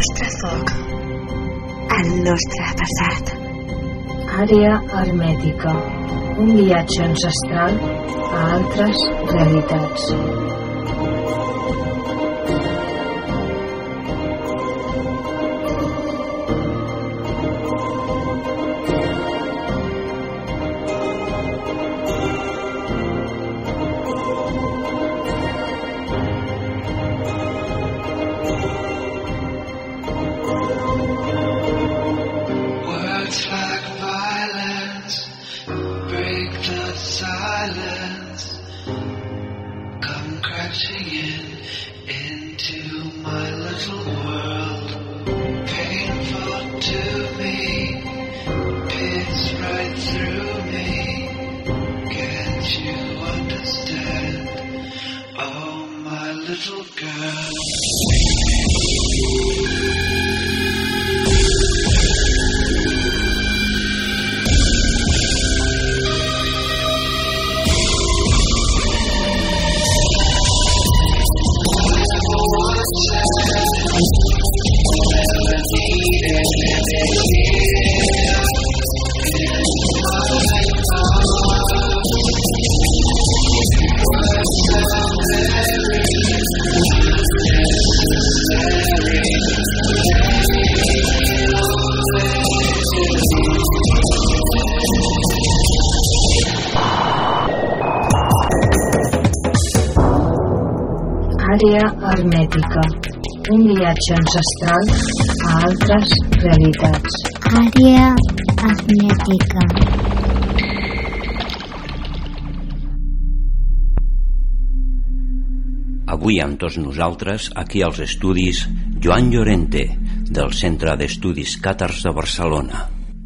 nostre foc, el nostre passat. Àrea hermètica, un viatge ancestral a altres realitats. Àrea hermètica, un viatge ancestral a altres realitats. Àrea hermètica. Avui amb tots nosaltres, aquí als estudis, Joan Llorente, del Centre d'Estudis Càtars de Barcelona.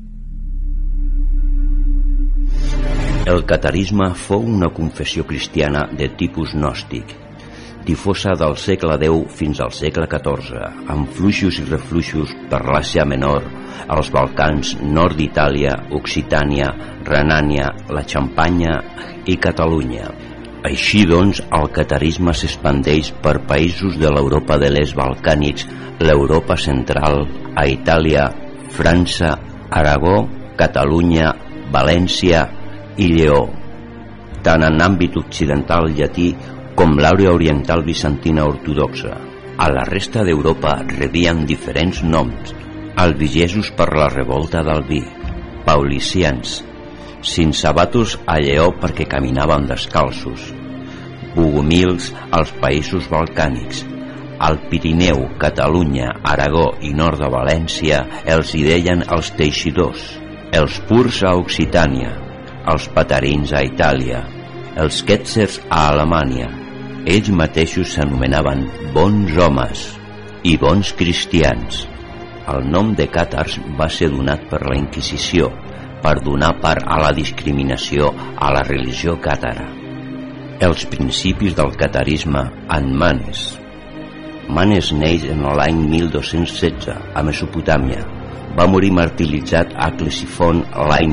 El catarisme fou una confessió cristiana de tipus gnòstic, difosa del segle X fins al segle XIV, amb fluixos i refluixos per l'Àsia Menor, els Balcans, nord d'Itàlia, Occitània, Renània, la Xampanya i Catalunya. Així doncs, el catarisme s'expandeix per països de l'Europa de l'Est balcànics, l'Europa central, a Itàlia, França, Aragó, Catalunya, València i Lleó. Tant en àmbit occidental llatí com l'àrea oriental bizantina ortodoxa. A la resta d'Europa rebien diferents noms: albigesos per la revolta d'Albí, paulicians, cinsabatos a Lleó perquè caminaven descalços, bogomils als països balcànics. Al Pirineu, Catalunya, Aragó i nord de València els hi deien els teixidors, els purs a Occitània, els patarins a Itàlia, els quètzers a Alemanya. Ells mateixos s'anomenaven bons homes i bons cristians. El nom de càtars va ser donat per la Inquisició per donar part a la discriminació a la religió càtara. Els principis del catarisme en Manes. Manes neix en l'any 1216 a Mesopotàmia. Va morir martiritzat a Ctesifont l'any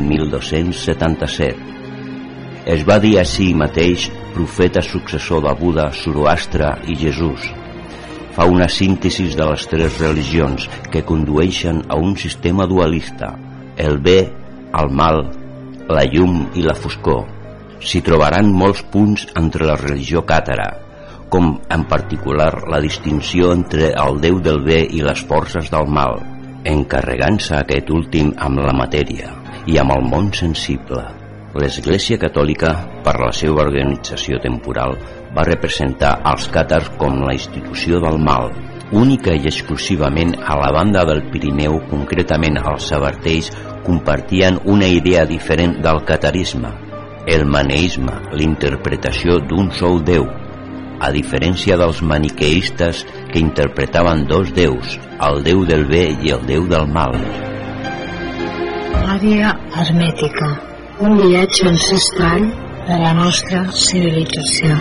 1277. Es va dir a si mateix profeta successor de Buda, Zoroastre i Jesús. Fa una síntesi de les tres religions que condueixen a un sistema dualista: el bé, el mal, la llum i la foscor. S'hi trobaran molts punts entre la religió càtara, com en particular la distinció entre el déu del bé i les forces del mal, encarregant-se aquest últim amb la matèria i amb el món sensible. L'Església Catòlica, per la seva organització temporal, va representar els càtars com la institució del mal. Única i exclusivament a la banda del Pirineu, concretament els sabartells, compartien una idea diferent del catarisme: el maneisme, l'interpretació d'un sol déu, a diferència dels maniqueistes que interpretaven dos déus, el déu del bé i el déu del mal. Àrea hermètica, un viatge ancestral de la nostra civilització.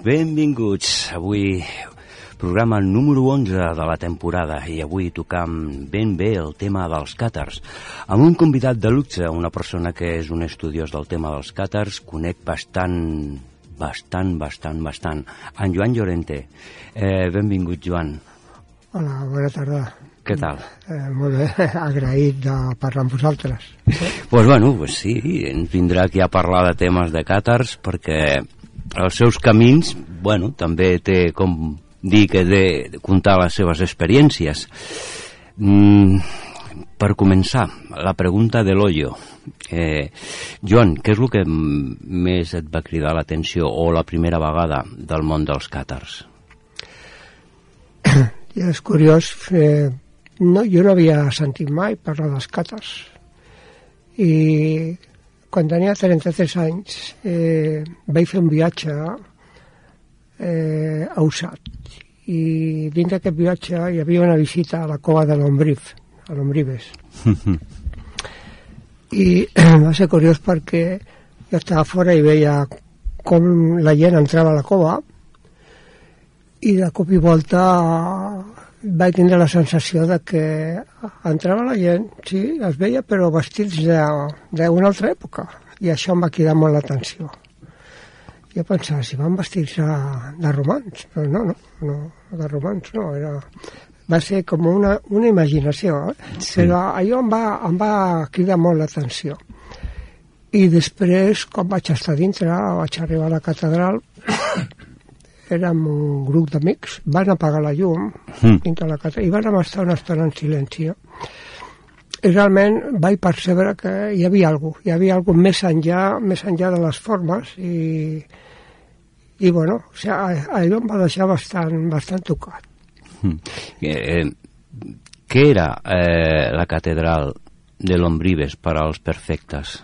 Benvinguts. Avui programa número 11 de la temporada i avui tocam ben bé el tema dels càtars amb un convidat de luxe, una persona que és un estudiós del tema dels càtars, conec bastant, en Joan Llorente. Benvingut, Joan. Hola, bona tarda. Què tal? Molt bé, agraït de parlar amb vosaltres. Pues sí, ens vindrà aquí a parlar de temes de càtars perquè els seus camins, també té com dir que de contar les seves experiències. Per començar, la pregunta de l'Ollo. Joan, què és el que més et va cridar l'atenció o la primera vegada del món dels càtars? És curiós, jo no havia sentit mai parlar dels càtars i quan tenia 33 anys vaig fer un viatge a Usat i dins d'aquest viatge hi havia una visita a la cova de l'Ombribes i va ser curiós perquè jo estava fora i veia com la gent entrava a la cova i de cop i volta vaig tindre la sensació de que entrava la gent, sí, es veia, però vestits d'una altra època i això em va cridar molt l'atenció. Jo pensava, si van vestits de romans, però no, de romans no, va ser com una imaginació, sí. Però allò em va cridar molt l'atenció. I després, quan vaig estar dintre, vaig arribar a la catedral, érem un grup d'amics, van apagar la llum dintre la catedral i van estar una estona en silenci. I realment vaig percebre que hi havia alguna cosa més enllà de les formes i allò em va deixar bastant tocat. Què era la catedral de l'Ombribes per als perfectes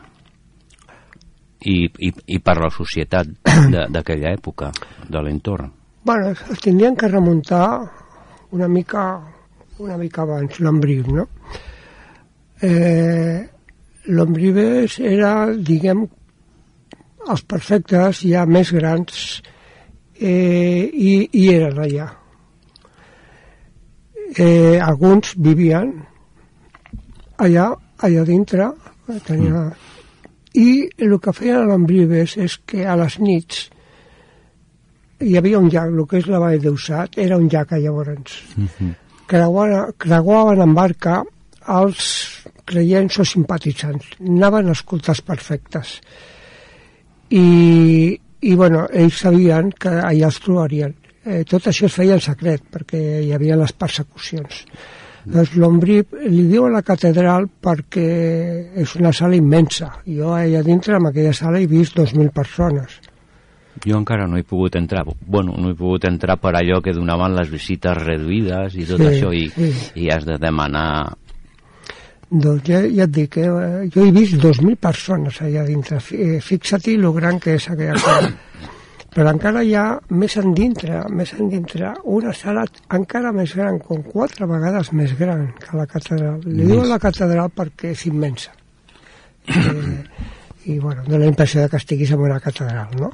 i per la societat d'aquella època, de l'entorn? Es tindrien que remuntar una mica abans, l'Ombrib, no? L'Ombribes era, diguem, els perfectes ja més grans i eren allà. Alguns vivien allà dintre, i el que feien a l'Ombribes és que a les nits hi havia un llac, el que és la vall d'Usat, era un llac llavors. Creuaven en barca els creients o simpatitzants, anaven a escoltar els perfectes. I ells sabien que allà els trobarien. Tot això es feia en secret, perquè hi havia les persecucions. Doncs l'Ombrib li diu a la catedral perquè és una sala immensa. Jo allà dintre, en aquella sala, he vist 2.000 persones. Jo encara no he pogut entrar. No he pogut entrar per allò que donaven les visites reduïdes i tot això, i has de demanar... Doncs ja et dic, jo he vist 2.000 persones allà dintre. Fixa-t'hi lo gran que és aquella sala. Però encara hi ha més endintre, una sala encara més gran, com 4 vegades més gran que la catedral. Li diuen la catedral perquè és immensa. I dona la impressió que estiguis en una catedral, no?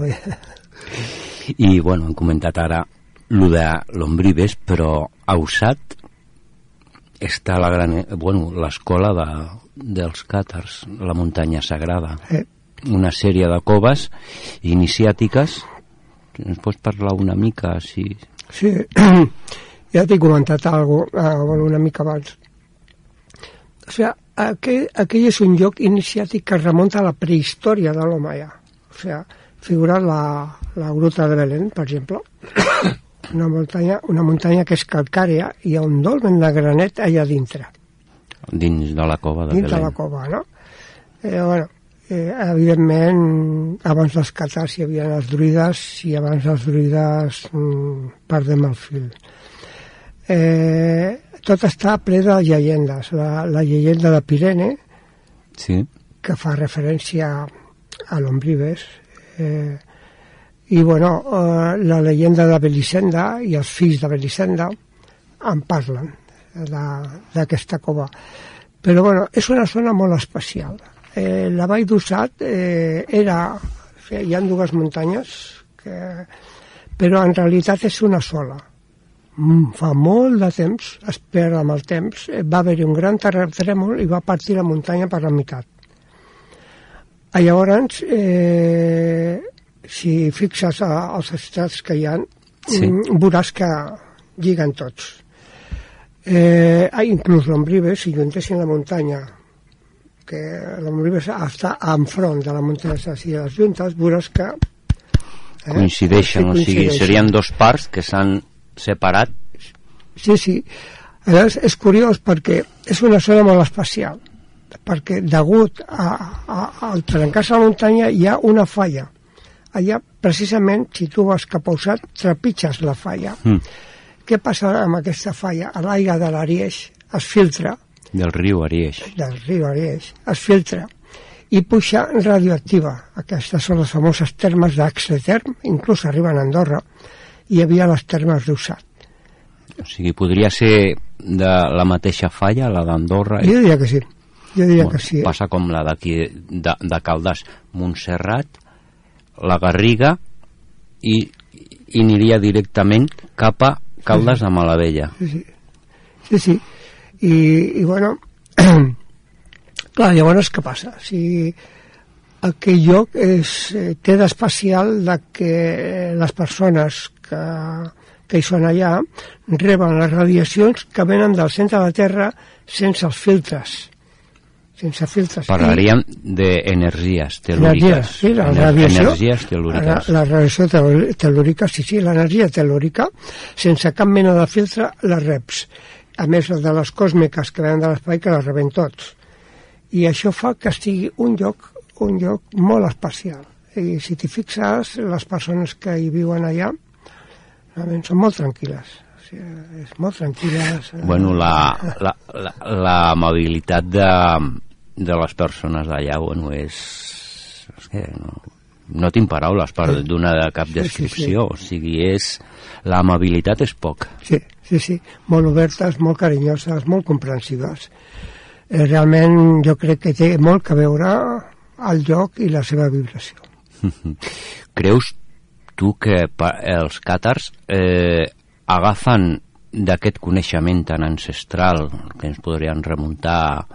I, hem comentat ara lo de l'Ombribes, però a Usat està l'escola dels càtars, la muntanya sagrada. Una sèrie de coves iniciàtiques. Ens pots parlar una mica? Sí, ja t'he comentat una mica abans. O sigui, aquell és un lloc iniciàtic que remunta a la prehistòria de l'home ja. O sigui, figura la gruta de Belén, per exemple, una muntanya que és calcària i hi ha un dolmen de granet allà dintre. Dins de la cova de Belén. Dins de la cova, no? Evidentment, abans dels càtars hi havia els druides i abans dels druides perdem el fil. Tot està ple de llegendes. La llegenda de Pirene, que fa referència a l'Ombribes, i la llegenda de Belisenda i els fills de Belisenda en parlen d'aquesta cova. Però és una zona molt especial. La vall d'Usat hi ha 2 muntanyes que però en realitat és una sola. Fa molt de temps, es perd amb el temps, va haver-hi un gran terratrèmol i va partir la muntanya per la meitat. Llavors, si fixes els estats que hi ha, veuràs que lliguen tots. Inclús l'Ombribes, si juntessin la muntanya, que l'Ombribes està enfront de la muntanya si les juntes, veuràs que coincideixen, o sigui, serien dos parts que s'han separat. Sí. Llavors és curiós perquè és una zona molt especial, perquè degut al trencar-se la muntanya hi ha una falla. Allà, precisament, si tu vas cap a Usat, trepitges la falla. Què passa amb aquesta falla? L'aigua de l'Arieix es filtra. Del riu Arieix. Es filtra i puja radioactiva. Aquestes són les famoses termes d'Axeterm, inclús arriben a Andorra. Hi havia les termes d'Usat. O sigui, podria ser de la mateixa falla, la d'Andorra? Jo diria que sí. Que sí. Passa com la d'aquí, de Caldes, Montserrat, la Garriga, i aniria directament cap a Caldes de Malavella. Sí. I bueno, clar, llavors què passa? Si aquell lloc té d'especial que les persones que hi són allà reben les radiacions que venen del centre de la Terra sense els filtres. Parlaríem d'energies telúriques. Sí, la radiació. Energies telúriques. La radiació telúrica, sí, l'energia telúrica, sense cap mena de filtre, les reps. A més de les còsmiques que venen de l'espai, que les reben tots. I això fa que estigui un lloc molt especial. I si t'hi fixes, les persones que hi viuen allà realment són molt tranquil·les. O sigui, és molt tranquil·les. Bueno, la amabilitat de les persones d'allà, bueno, és que no tinc paraules per donar cap descripció. O sigui, l'amabilitat és poc. Sí, molt obertes, molt carinyoses, molt comprensives. Realment jo crec que té molt a veure el lloc i la seva vibració. Creus tu que els càtars agafen d'aquest coneixement tan ancestral, que ens podrien remuntar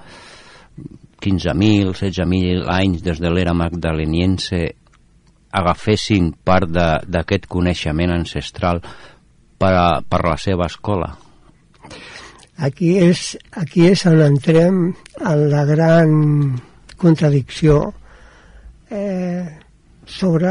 15.000, 16.000 anys des de l'era magdaleniense, agafessin part d'aquest coneixement ancestral per la seva escola? Aquí és on entrem en la gran contradicció sobre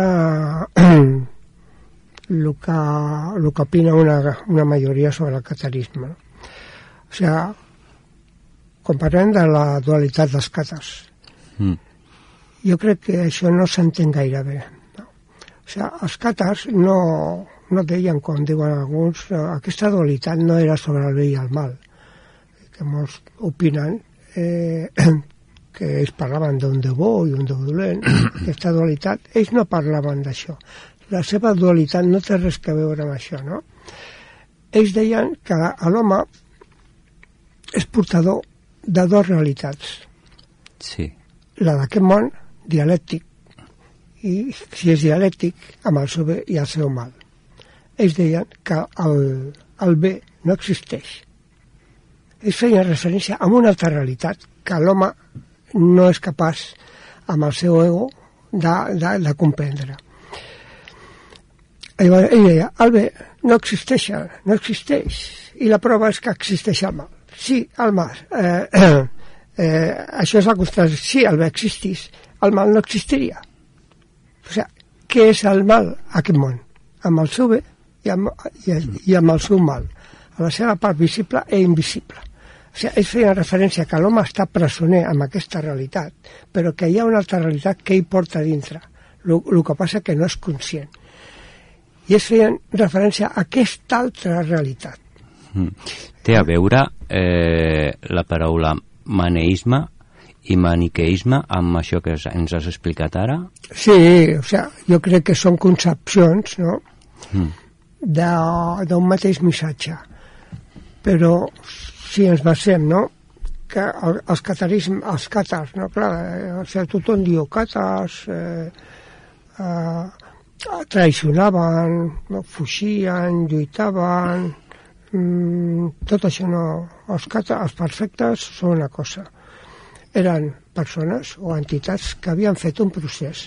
el que opina una majoria sobre el catarisme. O sigui, quan parlem de la dualitat dels càtars, jo crec que això no s'entén gaire bé. No? O sigui, els càtars no deien, com diuen alguns, aquesta dualitat no era sobre el bé i el mal, que molts opinen que ells parlaven d'un Déu bo i un Déu dolent. Aquesta dualitat, ells no parlaven d'això. La seva dualitat no té res a veure amb això, no? Ells deien que l'home és portador de dues realitats. Sí. La d'aquest món, dialèctic, i si és dialèctic, amb el seu bé i el seu mal. Ells deien que el bé no existeix. Ells feien referència a una altra realitat, que l'home no és capaç, amb el seu ego, de comprendre. Ell deia, el bé no existeix, i la prova és que existeix el mal. Sí, el mal. Això és la contradicció. Si el bé existís, el mal no existiria. O sigui, què és el mal a aquest món? Amb el seu bé i amb el seu mal, a la seva part visible i invisible. O sigui, ells feien referència que l'home està presoner amb aquesta realitat, però que hi ha una altra realitat que ell porta dintre. El que passa que no és conscient. I ells feien referència a aquesta altra realitat. Té a veure la paraula maneisme i maniqueisme amb això que ens has explicat ara? Sí, o sigui, jo crec que són concepcions, no?, d'un mateix missatge. Però si ens basem, no?, que els càtars, no?, clar, o sigui, tothom diu càtars, traicionaven, no? Fugien, lluitaven, tot això no. Els perfectes són una cosa. Eren persones o entitats que havien fet un procés.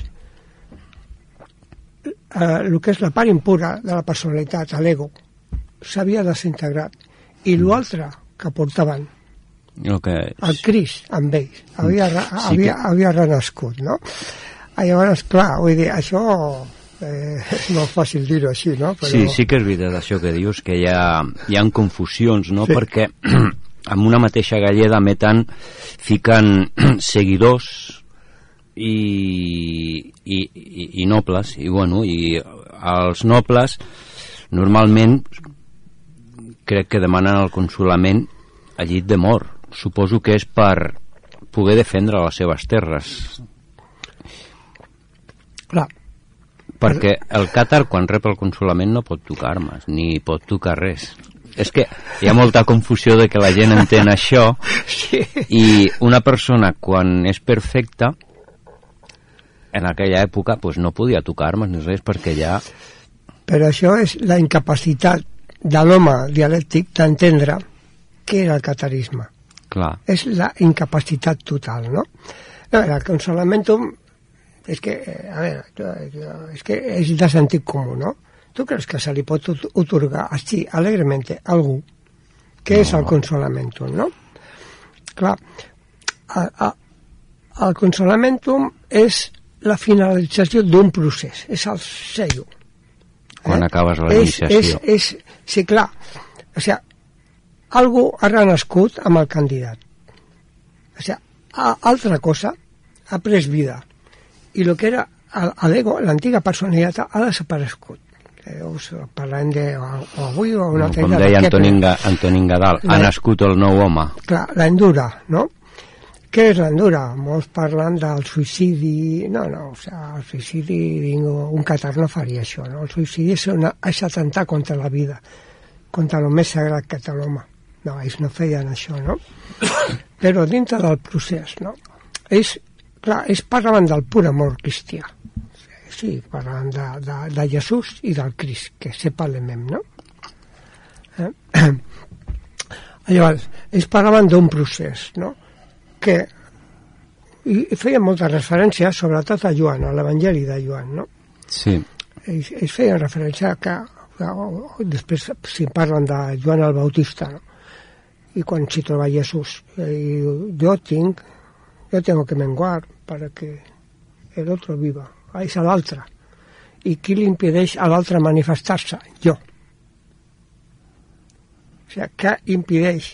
El que és la part impura de la personalitat, l'ego, s'havia desintegrat. I l'altre que portaven, el Crist amb ells, havia renascut, no? Llavors, clar, vull dir, això és molt fàcil dir-ho així, no? Però... Sí que és veritat això que dius, que hi ha confusions, no? Sí. Perquè amb una mateixa galleda fiquen seguidors i nobles, i bueno, i els nobles normalment crec que demanen el consolament a llit de mort. Suposo que és per poder defendre les seves terres. Clar. Perquè el càtar, quan rep el consolament, no pot tocar armes, ni pot tocar res. És que hi ha molta confusió de que la gent entén això, sí. I una persona, quan és perfecta, en aquella època, pues, no podia tocar armes ni res, perquè ja... Però això és la incapacitat de l'home dialèctic d'entendre què era el catarisme. Clar. És la incapacitat total, no? El consolamentum és que, a veure, és que és de sentit comú, no? Tu creus que se li pot otorgar així, alegrement, a algú? Què és el consolamentum, no? Clar, el consolamentum és la finalització d'un procés, és el sello. Quan acabes la iniciació. Sí, clar, o sigui, algú ha renascut amb el candidat. O sigui, altra cosa ha pres vida. I el que era l'ego, l'antiga personalitat, ha desaparegut. Parlem d'avui o una altra... Com deia Antonín Gadal, ha nascut el nou home. Clar, l'endura, no? Què és l'endura? Molts parlen del suïcidi... No, o sigui, el suïcidi, un catar no faria això, no? El suïcidi és atemptar contra la vida, contra el més sagrat que té l'home. No, ells no feien això, no? Però dintre del procés, no? Ells parlaven del pur amor cristià. Sí, parlaven de Jesús i del Crist, que se parlem, no? Llavors, ells parlaven d'un procés, no? I feien moltes referències, sobretot a Joan, a l'Evangeli de Joan, no? Sí. Ells feien referència que després si parlen de Joan el Bautista, no? Y cuando se trova Jesús, yo tengo que menguar para que el otro viva. És a l'altre. I qui li impedeix a l'altre manifestar-se? Jo. O sigui, què impedeix?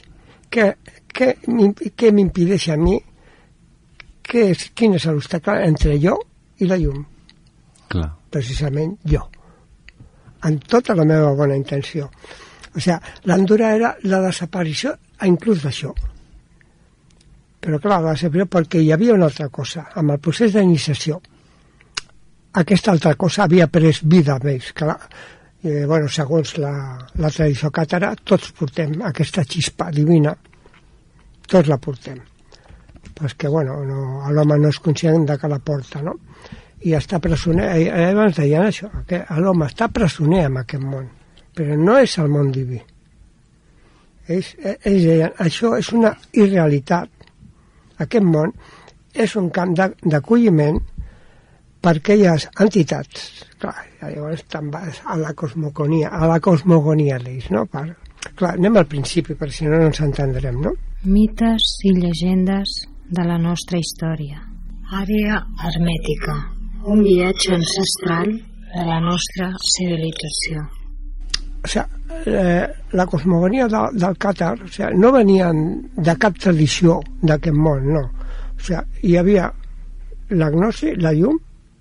Què m'impedeix a mi? Quin és l'obstacle entre jo i la llum? Clar. Precisament jo. Amb tota la meva bona intenció. O sigui, l'endura era la desaparició inclús d'això. Però clar, la desaparició perquè hi havia una altra cosa. Amb el procés d'iniciació, aquesta altra cosa havia pres vida amb ells. Clar, bueno, segons la tradició càtara, tots portem aquesta xispa divina, tots la portem. Però és que, bueno, l'home no és conscient de que la porta, no? I està presoner, abans deien això, que l'home està presoner en aquest món, però no és el món diví. Ells deien, això és una irrealitat. Aquest món és un camp d'acolliment per aquelles entitats. Clar, llavors te'n vas a la cosmogonia d'ells, no? Clar, anem al principi, perquè si no ens entendrem, no? Mites i llegendes de la nostra història. Àrea hermètica, un viatge ancestral de la nostra civilització. O sigui, la cosmogonia del càtar, o sigui, no venien de cap tradició d'aquest món, no. O sigui, hi havia la gnosi, la llum,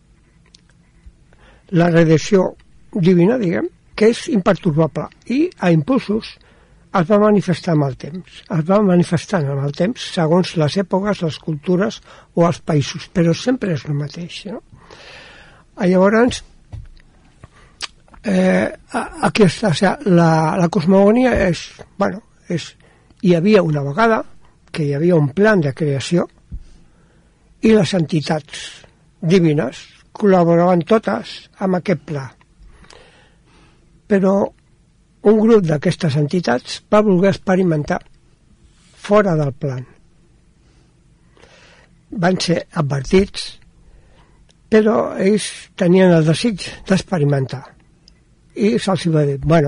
la redacció divina, diguem, que és imperturbable, i a impulsos es va manifestar amb el temps. Es va manifestant amb el temps segons les èpoques, les cultures o els països, però sempre és el mateix, no? Llavors, aquí està, o sigui, la cosmogonia és, bueno, hi havia una vegada que hi havia un plan de creació i les entitats divines col·laboraven totes amb aquest pla. Però un grup d'aquestes entitats va voler experimentar fora del plan. Van ser advertits, però ells tenien el desig d'experimentar. I se'ls va dir, bueno,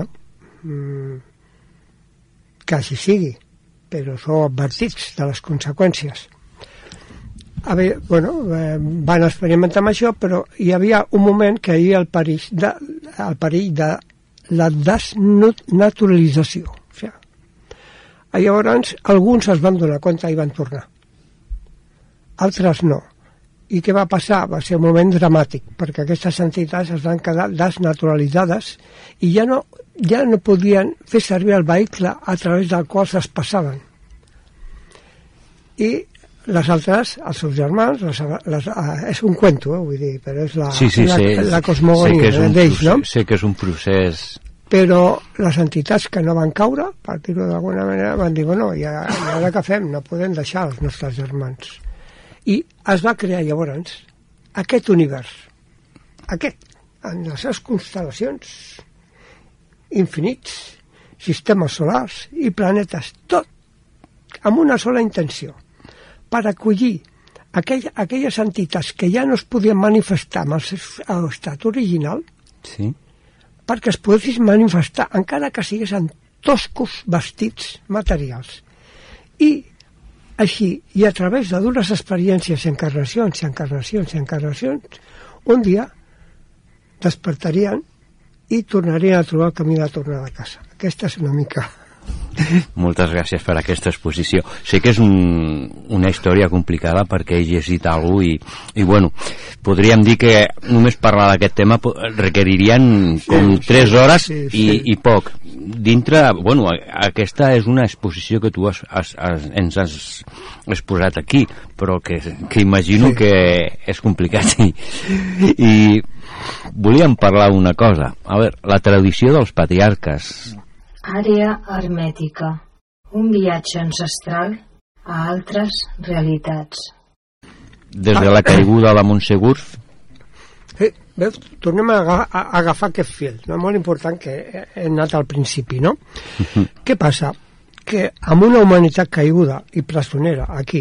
que així sigui, però sou advertits de les conseqüències. Van experimentar amb això, però hi havia un moment que hi havia el perill de la desnaturalització. O sigui, llavors, alguns es van donar compte i van tornar. Altres no. I què va passar? Va ser un moment dramàtic, perquè aquestes entitats es van quedar desnaturalitzades i ja no podien fer servir el vehicle a través del qual es passaven. I les altres, els seus germans, és un cuento, vull dir, però és la cosmogonia d'ells, no? Sé que és un procés... Però les entitats que no van caure, per dir-ho d'alguna manera, van dir, bueno, i ara què fem? No podem deixar els nostres germans. I es va crear llavors aquest univers, en les seves constel·lacions infinits, sistemes solars i planetes, tot amb una sola intenció, per acollir aquelles entitats que ja no es podien manifestar amb el seu estat original, sí, perquè es poguessin manifestar encara que siguessin toscos vestits materials. I així, i a través de dures experiències, encarnacions, un dia despertarien i tornarien a trobar el camí de tornar a casa. Aquesta és una mica... Moltes gràcies per aquesta exposició. Sé que és una història complicada perquè he llegit alguna cosa i bueno, podríem dir que només parlar d'aquest tema requeririen com 3 hores i poc. Dintre, bueno, aquesta és una exposició que tu ens has exposat aquí, però que imagino que és complicat i volíem parlar una cosa. A veure, la tradició dels patriarques. Àrea hermètica, un viatge ancestral a altres realitats. Des de la caiguda de Montsegur? Veus, tornem a agafar aquest fil, no? Molt important que he anat al principi, no? Què passa? Que amb una humanitat caiguda i presonera aquí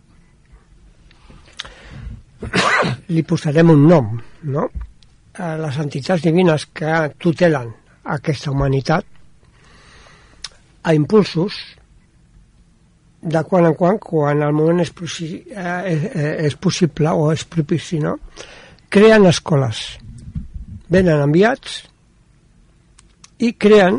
li posarem un nom, no? Les entitats divines que tutelen aquesta humanitat a impulsos de quan en quan el moment és possible o és propici, no? Creen escoles, venen enviats i creen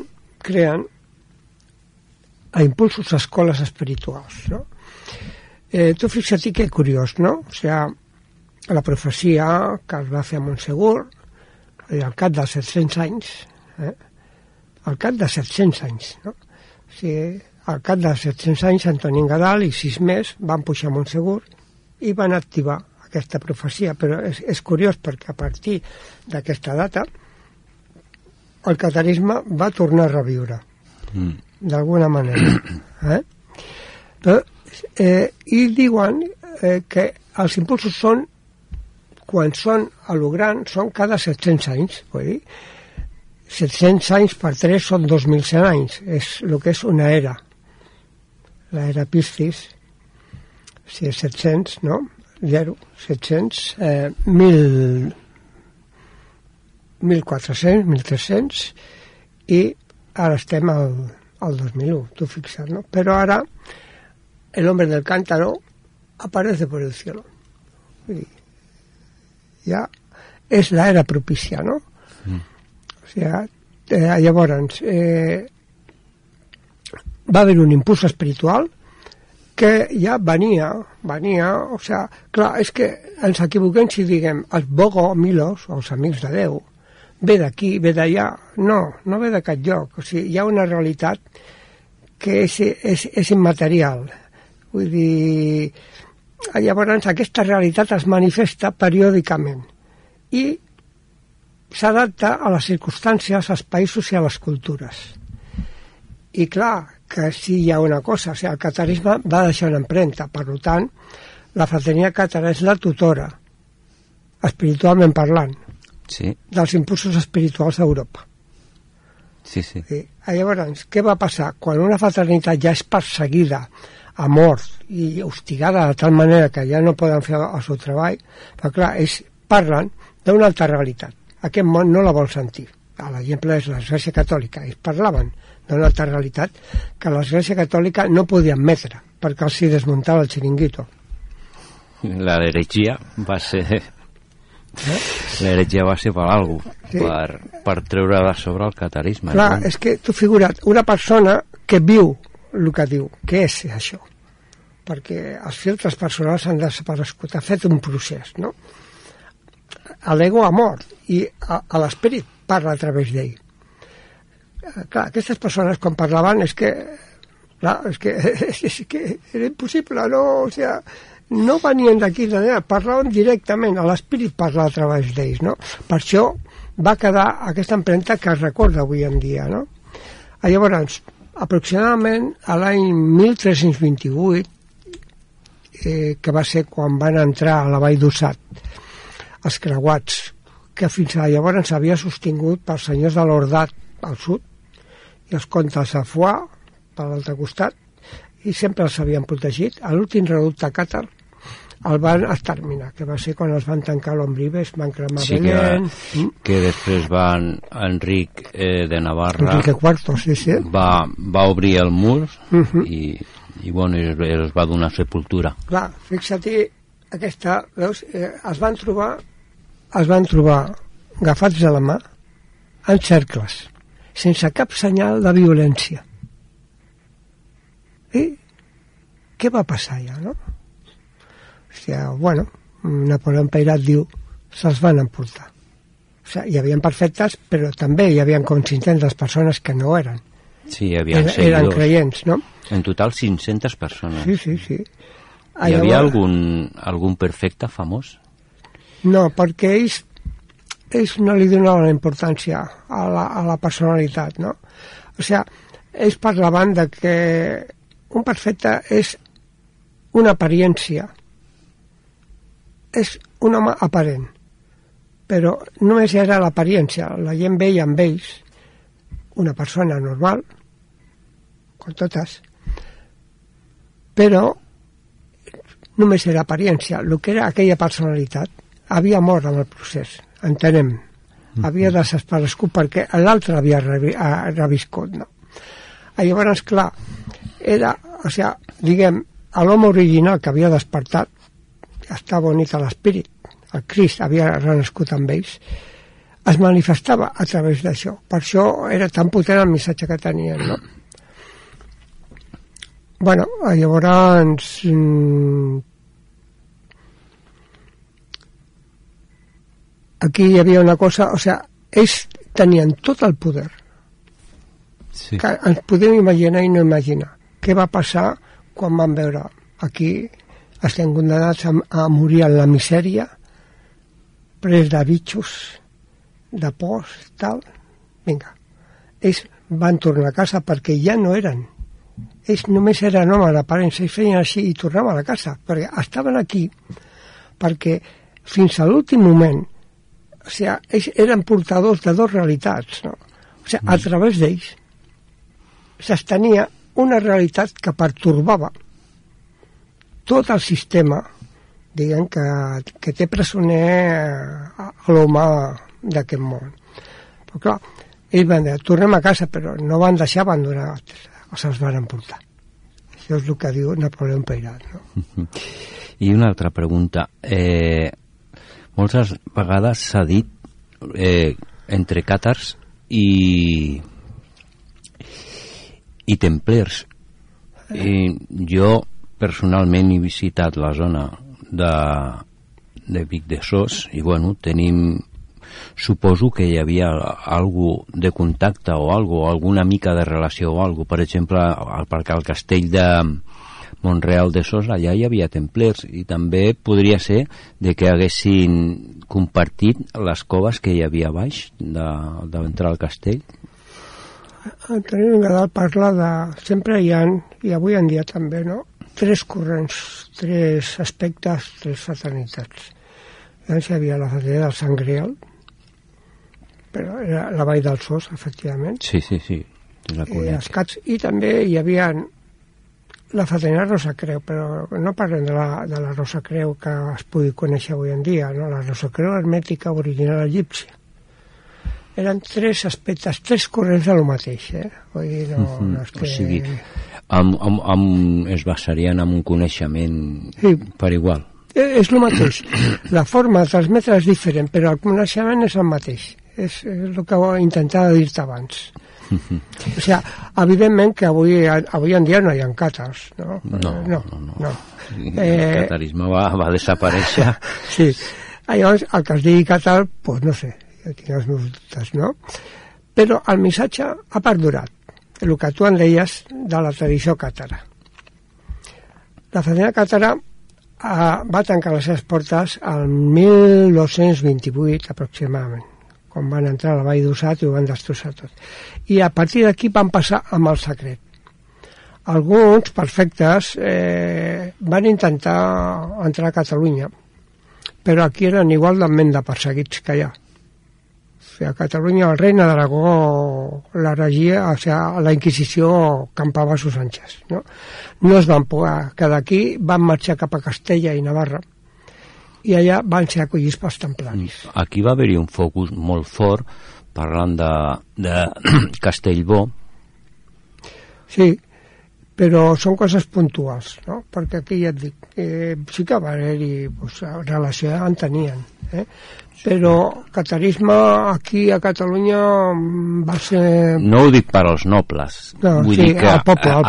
a impulsos escoles espirituals, no? Tu fixa't que curiós, no? O sigui, la profecia que es va fer a Montsegur al cap de 700 anys, al cap de 700 anys, no? Sí, al cap de 700 anys Antoni Gadal i 6 més van pujar a Montsegur i van activar aquesta profecia, però és curiós perquè a partir d'aquesta data el catarisme va tornar a reviure d'alguna manera, però, i diuen que els impulsos són quan són a lo gran són cada 700 anys, vull dir 700 anys per 3 són 2.100 anys, és el que és una era. L'era Piscis, si és 700, no? 0, 700, 1.400, 1.300, i ara estem al 2001, tu fixa't, no? Però ara el hombre del cántaro aparece por el cielo. Ja és la era propicia, no? O sigui, llavors va haver un impuls espiritual que ja venia, o sigui, clar, és que ens equivoquem si diguem els bogomilos, els amics de Déu, ve d'aquí, ve d'allà, no ve de cap lloc, o sigui, hi ha una realitat que és immaterial, vull dir, llavors aquesta realitat es manifesta periòdicament i s'adapta a les circumstàncies, als països i a les cultures. I clar, que sí hi ha una cosa, o sigui, el catarisme va deixar una empremta, per tant, la fraternitat càtara és la tutora espiritualment parlant, Sí, dels impulsos espirituals a Europa. sí, sí. Llavors, què va passar? Quan una fraternitat ja és perseguida a mort i hostigada de tal manera que ja no poden fer el seu treball, però clar, ells parlen d'una altra realitat. Aquest món no la vol sentir. L'exemple és l'Església Catòlica. Ells parlaven d'una altra realitat que l'Església Catòlica no podia admetre, perquè els hi desmuntava el xiringuito. La heretgia va ser... L'heretgia va ser per alguna cosa, Sí. per treure de sobre el catarisme. Clar, és que tu figura't, una persona que viu el que diu, què és això? Perquè els filtres personals han desaparegut, ha fet un procés, no? L'ego ha mort i a l'esperit parla a través d'ell. Clar, aquestes persones quan parlaven és que era impossible, no? O sea, no venien d'aquí d'allà, parlaven directament, l'esperit parla a través d'ells, no? Per això va quedar aquesta empremta que es recorda avui en dia, no? Llavors, aproximadament a l'any 1328, que va ser quan van entrar a la Vall d'Ussat, els creuats, que fins a llavors s'havia sostingut pels senyors de l'Ordat al sud i els comtes de Foix per l'altre costat, i sempre els havien protegit. A l'últim reducte càtar el van exterminar, que va ser quan els van tancar l'Ombribes, van cremar Belén. Que després Enric de Navarra Enrique IV, sí. va obrir el mur i bueno, es va donar sepultura. Clar, fixa-t'hi, aquesta, veus, es van trobar agafats de la mà en cercles, sense cap senyal de violència. I què va passar ja, no? Hòstia, bueno, Napoleó Peyrat diu, se'ls van emportar. O sigui, hi havia perfectes, però també hi havia com 500 persones que no eren. Sí, hi havia eren creients, no? En total 500 persones. Sí. Hi havia algun perfecte famós? No, perquè ells no li donaven la importància a la personalitat, no? O sigui, ells parlaven de que un perfecte és una apariència, és un home aparent, però només era l'apariència, la gent veia amb ells una persona normal, com totes, però només era apariència. El que era aquella personalitat havia mort en el procés, entenem, havia desaparegut perquè l'altre havia reviscut, no? Llavors, clar, era, o sigui, diguem, l'home original que havia despertat, estava unit a l'espírit, el Crist havia renascut amb ells, es manifestava a través d'això. Per això era tan potent el missatge que tenien, no? Bueno, llavors... aquí hi havia una cosa, o sigui, ells tenien tot el poder. Sí. Que ens podem imaginar i no imaginar. Què va passar quan van veure aquí estem condenats a morir en la misèria, pres de bitxos, de pors, tal. Vinga. Ells van tornar a casa perquè ja no eren. Ells només eren homes d'aparença, ells feien així i tornaven a la casa, perquè estaven aquí perquè fins a l'últim moment, o sigui, ells eren portadors de dues realitats, no? O sigui, a través d'ells s'estenia una realitat que pertorbava tot el sistema, diguem, que té presoner a l'home d'aquest món. Però clar, ells van dir, tornem a casa, però no van deixar abandonar, o se'ls van emportar. Això és el que diu Napoleó Peyrat, no? I una altra pregunta. Moltes vegades s'ha dit entre càtars i templers. Jo personalment he visitat la zona de Vic de Sos i bueno, suposo que hi havia algú de contacte o alguna mica de relació o alguna. Per exemple, perquè al castell de Montreal de Sos allà hi havia templers i també podria ser de que haguessin compartit les coves que hi havia a baix d'entrar al castell. Tenim Nadal parla de... Sempre hi ha, i avui en dia també, no? 3 corrents, 3 aspectes, 3 fraternitats. Llavors hi havia la fatena del Sant Grial, però era la Vall dels Sos, efectivament. Sí. La Escats, i també hi havia la fatena Rosa Creu, però no parlem de la Rosa Creu que es pugui conèixer avui en dia, no? La Rosa Creu hermètica original egípcia. Eren 3 aspectes, 3 corrents de lo mateix, Vull dir, no és que... O sigui, es basarien en un coneixement per igual. És el mateix. La forma de transmetre és diferent, però el coneixement és el mateix. És el que intentava dir-te abans. O sigui, evidentment que avui en dia no hi ha càtars, no? No. El catarisme va desaparèixer. Sí. Llavors, el que es digui càtar, doncs no sé, jo tinc els meus dubtes, no? Però el missatge ha perdurat, el que tu en deies de la tradició càtara. La fatena càtara va tancar les seves portes al 1228 aproximadament, quan van entrar a la Vall d'Ussat i ho van destrossar tot. I a partir d'aquí van passar amb el secret. Alguns perfectes van intentar entrar a Catalunya, però aquí eren igualment de perseguits que allà. O sigui, a Catalunya el reina d'Aragó la regia, o sigui, la Inquisició campava a sus anchas, no? No es van poder quedar aquí, van marxar cap a Castella i Navarra, i allà van ser acollits pels templaris. Aquí va haver-hi un focus molt fort parlant de Castellbó. Sí, però són coses puntuals, no? Perquè aquí ja et dic, sí que va haver-hi relació, en tenien, però catarisme aquí a Catalunya va ser... No ho dic per als nobles, vull dir que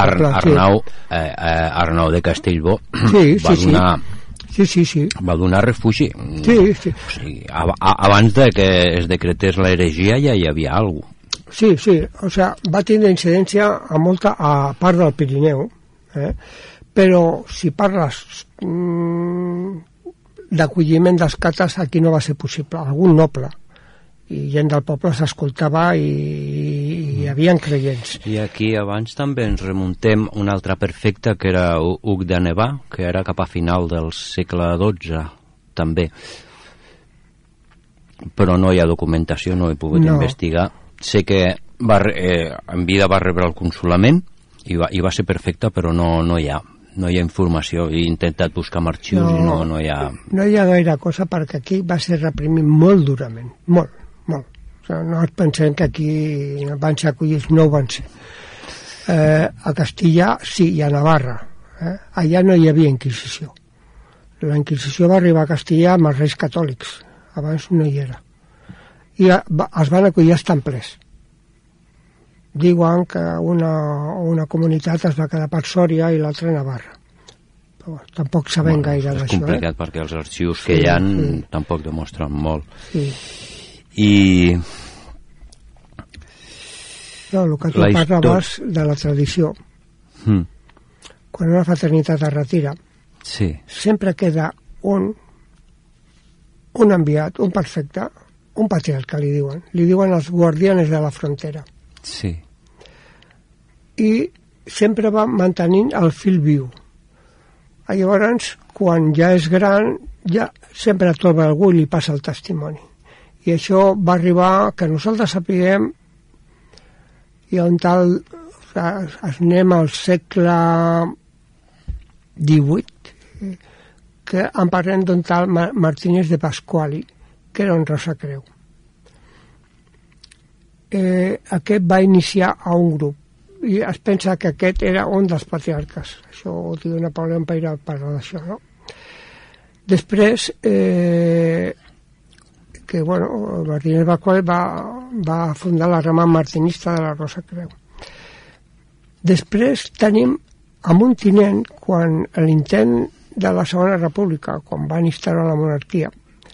Arnau de Castellbó va donar... Sí. Va donar refugi. Sí. O sigui, abans de que es decretés l'heregia ja hi havia alguna cosa. Sí, o sigui, va tindre incidència a molta a part del Pirineu, però si parles d'acolliment dels cates, aquí no va ser possible. Algun noble i gent del poble s'escoltava i hi havia creients. I aquí abans també ens remuntem un altre perfecte que era Hug de Nevà, que era cap a final del segle XII també, però no hi ha documentació, no he pogut investigar. Sé que en vida va rebre el consolament i va ser perfecte, però no hi ha informació. He intentat buscar amb arxius i no hi ha... No hi ha gaire cosa, perquè aquí va ser reprimit molt durament, molt. O sigui, no ens pensem que aquí van ser acollits, no ho van ser. A Castilla sí, i a Navarra. Allà no hi havia Inquisició. La Inquisició va arribar a Castilla amb els reis catòlics, abans no hi era. I es van acollir els templers. Diuen que una comunitat es va quedar per Sòria i l'altra a Navarra. Però tampoc sabem gaire d'això. És complicat perquè els arxius que hi ha tampoc demostren molt. Sí. I... No, el que tu parlaves de la tradició. Quan una fraternitat es retira, sempre queda un enviat, un perfecte, un patriarca, li diuen els guardianes de la frontera. Sí. I sempre va mantenint el fil viu. Llavors, quan ja és gran, ja sempre troba algú i li passa el testimoni. I això va arribar que nosaltres sapiguem i on tal anem al segle XVIII, que en parlem d'un tal Martínez de Pasquali, que era un Rosa Creu. Aquest va iniciar a un grup i es pensa que aquest era un dels patriarques. Això ho diu Napoleó Peirà, parla d'això, no? Després, que Martínez Pasquali va fundar la rama martinista de la Rosa Creu. Després tenim amb un tinent, quan l'intent de la Segona República, quan van instaurar la monarquia,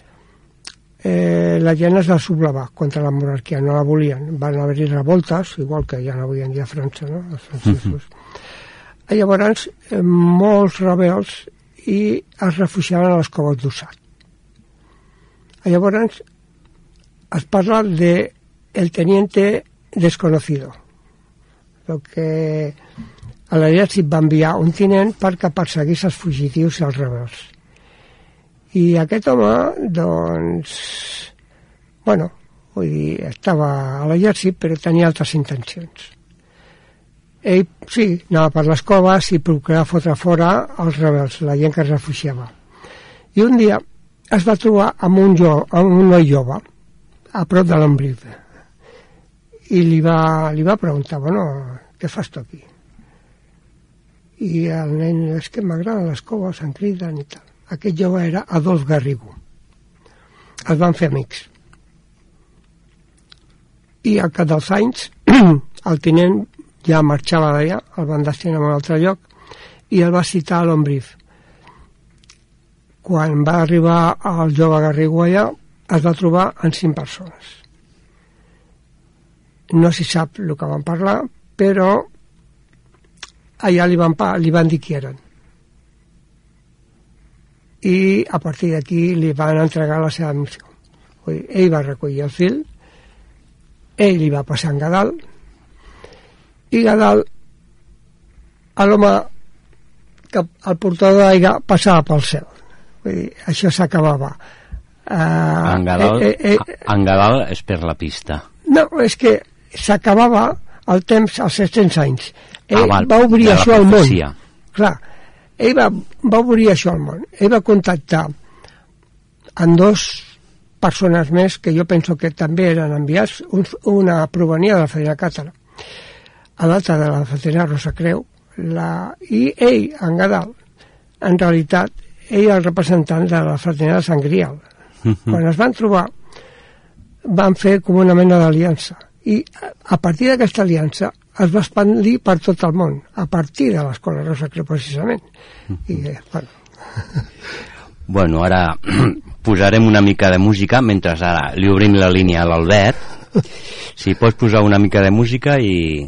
la gent es va sublevar contra la monarquia, no la volien. Van haver-hi revoltes, igual que ja no avui en dia a França, no? Els francesos. Llavors, molts rebels i es refugiaven a les coves d'Ussat. Llavors, es parla de el teniente desconocido, el que a l'exèrcit va enviar un tinent perquè perseguís els fugitius i els rebels. I aquest home, doncs, bueno, vull dir, estava a l'exèrcit, però tenia altres intencions. Ell, sí, anava per les coves i procurava fotre fora els rebels, la gent que es refugiava. I un dia es va trobar amb un noi jove, a prop de l'Ombriu, i li va preguntar, bueno, què fas tu aquí? I el nen, és que m'agraden les coves, em criden i tal. Aquest jove era Adolf Garrigó. Es van fer amics. I al cap dels anys, el tinent ja marxava d'allà, el van destinar a un altre lloc, i el va citar a l'Ombriu. Quan va arribar el jove Garrigó allà, es va trobar amb 5 persones. No s'hi sap el que van parlar, però allà li van dir qui eren. I a partir d'aquí li van entregar la seva missió. Ell va recollir el fil, ell li va passar en Gadal, i Gadal, l'home, el portador d'aigua passava pel cel. Vull dir, això s'acabava. En Gadal és per la pista. No, és que s'acabava el temps als 700 anys. Ell va obrir això al món. Clar, ell va obrir això al món. Ell va contactar amb 2 persones més que jo penso que també eren enviats. Una provenia de la Federa Càtara, a l'altra de la Federa Rosa Creu, i ell, en Gadal, en realitat, ell el representant de la Fraternidad de Sant Grial. Quan es van trobar, van fer com una mena d'aliança. I a partir d'aquesta aliança es va expandir per tot el món, a partir de l'Escola Rosa Creu, precisament. I, bueno, ara posarem una mica de música, mentre ara li obrim la línia a l'Albert. Si pots posar una mica de música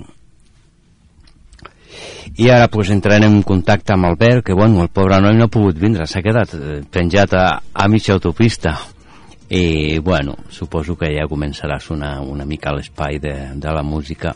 i ara pues, entrarem en contacte amb Albert, que bueno, el pobre noi no ha pogut vindre, s'ha quedat penjat a mitja autopista. I bueno, suposo que ja començarà a sonar una mica l'espai de la música.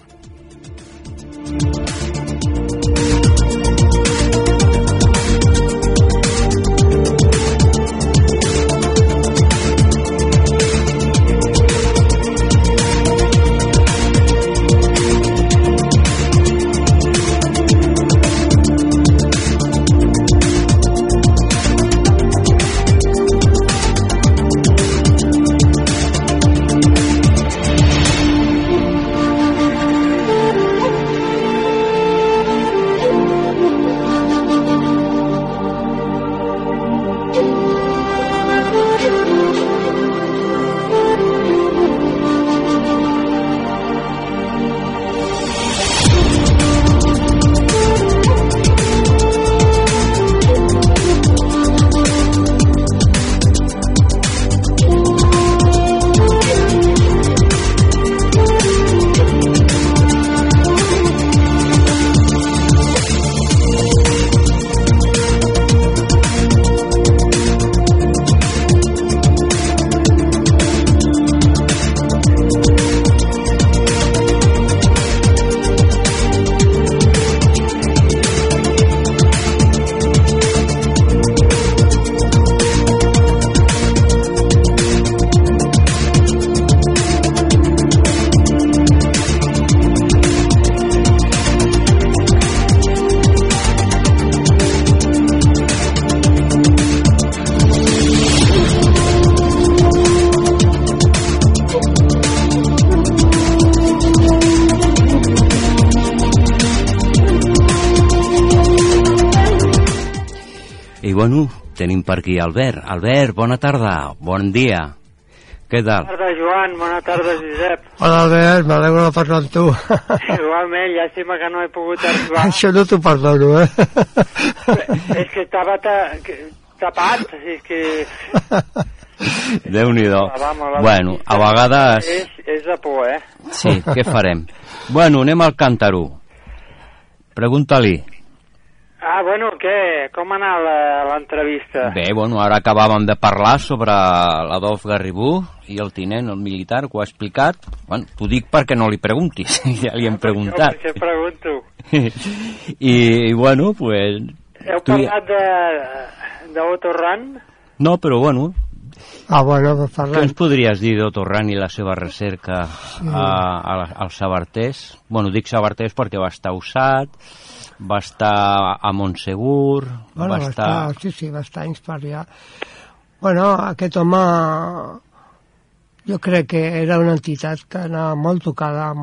I bueno, tenim per aquí Albert. Albert, bona tarda, bon dia. Què tal? Bona tarda, Joan, bona tarda, Josep. Hola, Albert, m'alegro de parlar amb tu. Igualment, llàstima que no he pogut arribar. Això no t'ho perdono, És que estava tapat, és que... Déu-n'hi-do. Bueno, a vegades... És de por, Sí, què farem? Bueno, anem al Càntaro. Pregunta-li. Bueno, què? Com ha anat l'entrevista? Bé, bueno, ara acabàvem de parlar sobre l'Adolf Garrigó i el tinent, el militar, que ho ha explicat. Bueno, t'ho dic perquè no li preguntis, ja li hem preguntat. Jo pregunto. I bueno, pues... Heu parlat d'Otto Rahn? No, però bueno... Bueno, doncs Què parlem. ens podries dir d'Otto Rahn i la seva recerca als sabarters? Bueno, dic sabarters perquè va estar a Usat, va estar a Montsegur... Bueno, va estar a Insparià. Bueno, aquest home jo crec que era una entitat que anava molt tocada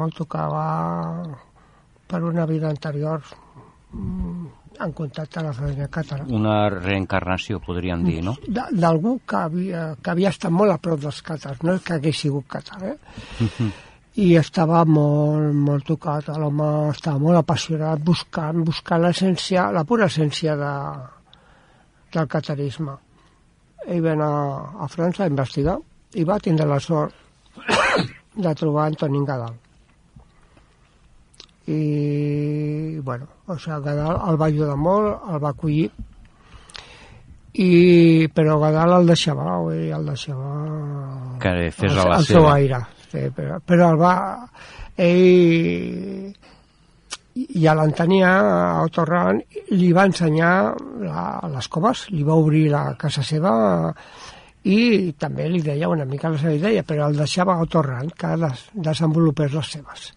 per una vida anterior en contacte amb la família càtara. Una reencarnació, podríem dir, no? D'algú que havia estat molt a prop dels càtars, no és que hagués sigut càtar, I estava molt tocat, l'home estava molt apassionat buscant l'essència, la pura essència del catarisme. Ell va anar a França a investigar i va tindre la sort de trobar Antonín Gadal. I, bueno, Gadal el va ajudar molt, el va acollir, però Gadal el deixava que fes a la el seu aire, sí, però ell ja l'entenia, a Otto Rahn, li va ensenyar les coves, li va obrir la casa seva i també li deia una mica la seva idea, però el deixava a Otto Rahn que desenvolupés les seves.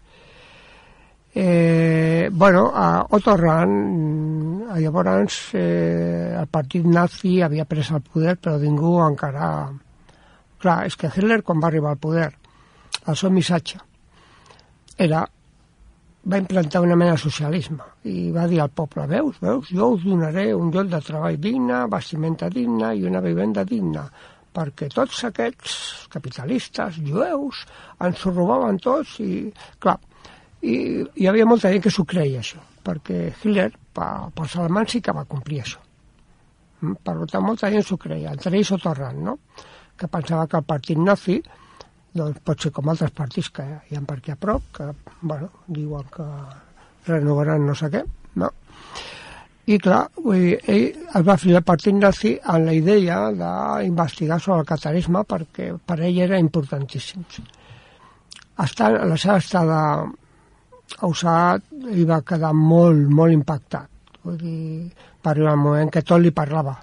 Otto Rahn, llavors el partit nazi havia pres el poder, però ningú encara... Clar, és que Hitler, quan va arribar al poder, el seu missatge va implantar una mena de socialisme i va dir al poble, veus, jo us donaré un lloc de treball digne, vestimenta digna i una vivenda digna, perquè tots aquests capitalistes, jueus, ens ho robaven tots i, clar, i hi havia molta gent que s'ho creia, això, perquè Hitler, pels alemanys, sí que va complir això. Per tant, molta gent s'ho creia, entre ells Otto Rahn, no? Que pensava que el partit nazi, doncs pot ser com altres partits que hi ha per aquí a prop, que, bueno, diuen que renovaran no sé què, no? I, clar, ell es va fer el partit nazi amb la idea d'investigar sobre el catarisme perquè per ell era importantíssim. La seva estada a Usat ell va quedar molt impactat. Vull dir, va arribar un moment que tot li parlava.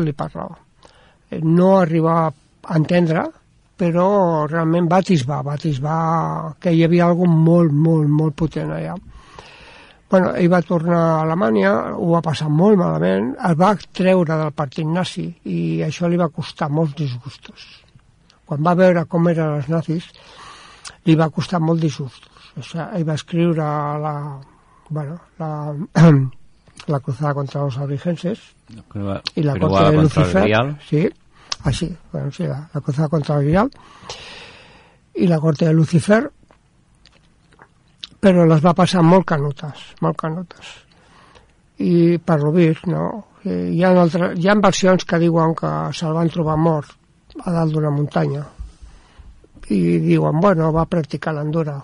No arribava a entendre, però realment va atisbar que hi havia alguna molt potent allà. Bueno, ell va tornar a Alemanya, ho va passar molt malament, el va treure del partit nazi i això li va costar molts disgustos. Quan va veure com eren els nazis, li va costar molt disgustos. O sigui, ell va escriure la cruzada contra los albigenses i la corte de Lucifer. Sí, així, la cruzada contra el Grial i la corte de Lucifer, però les va passar molt canutes. I per lo vist, no? Hi ha versions que diuen que se'l van trobar mort a dalt d'una muntanya i diuen, va practicar l'endura.